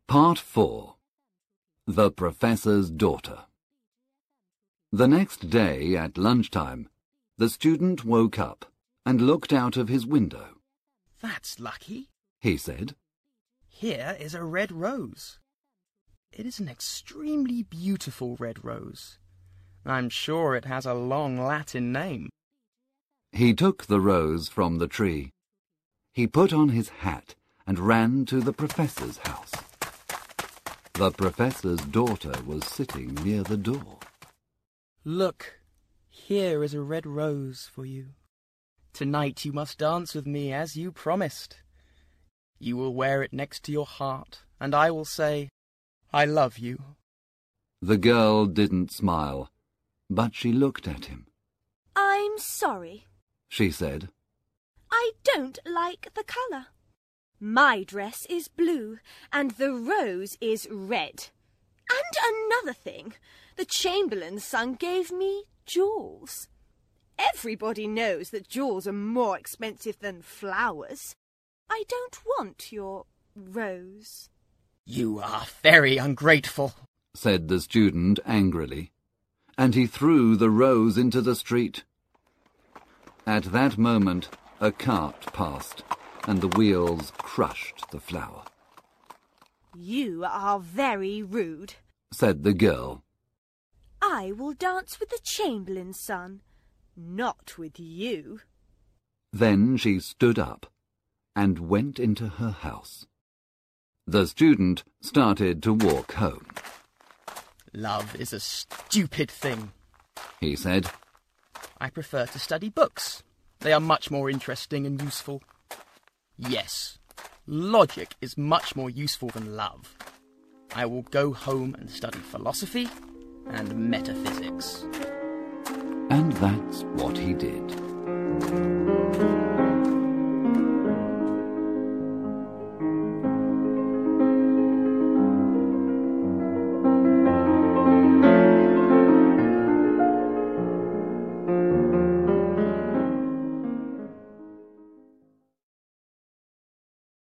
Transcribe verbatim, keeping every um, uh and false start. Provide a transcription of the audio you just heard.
Part four. The Professor's Daughter. The next day at lunchtime, the student woke up and looked out of his window. "That's lucky," he said. "Here is a red rose. It is an extremely beautiful red rose. I'm sure it has a long Latin name." He took the rose from the tree. He put on his hat and ran to the professor's house. The professor's daughter was sitting near the door. "Look, here is a red rose for you. Tonight you must dance with me as you promised. You will wear it next to your heart, and I will say, 'I love you.'" The girl didn't smile, but she looked at him. "I'm sorry," she said. "I don't like the colour. My dress is blue, and the rose is red. And another thing, the Chamberlain's son gave me jewels. Everybody knows that jewels are more expensive than flowers. I don't want your rose." "You are very ungrateful," said the student angrily, and he threw the rose into the street. At that moment, a cart passed, and the wheels crushed the flower. "You are very rude," said the girl. "I will dance with the Chamberlain's son, not with you." Then she stood up and went into her house. The student started to walk home. "Love is a stupid thing," he said. "I prefer to study books. They are much more interesting and useful. Yes, logic is much more useful than love. I will go home and study philosophy and metaphysics." And that's what he did.